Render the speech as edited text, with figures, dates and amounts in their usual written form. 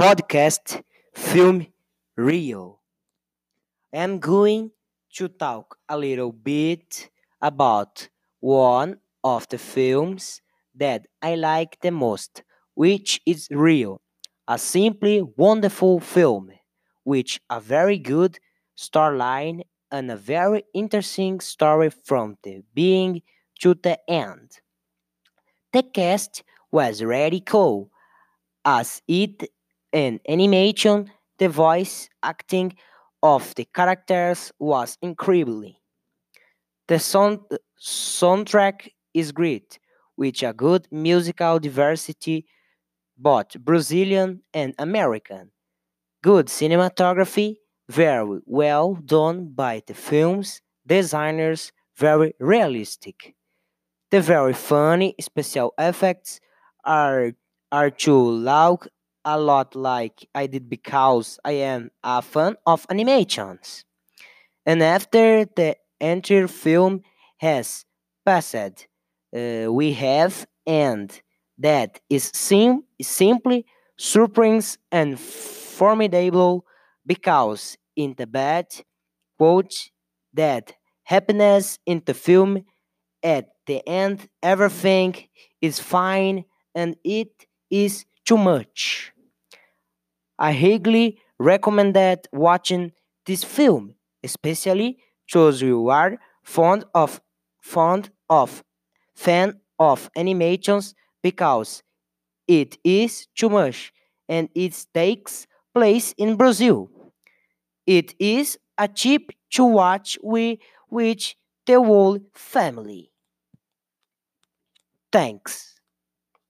podcast Film Rio. I'm going to talk a little bit about one of the films that I like the most, which is Rio, a simply wonderful film with a very good storyline and a very interesting story from the beginning to the end. The cast was really cool as it in animation, the voice acting of the characters was incredible. The soundtrack is great, with a good musical diversity, both Brazilian and American. Good cinematography, very well done by the film's designers, very realistic. The very funny special effects are are to look a lot like I did because I am a fan of animations. And after the entire film has passed, we have and that is simply surprise and formidable because in the bad quote that happiness in the film at the end, everything is fine and it is too much. I highly recommend that watching this film, especially those you are fond of fan of animations because it is too much and it takes place in Brazil. It is a cheap to watch with the whole family. Thanks.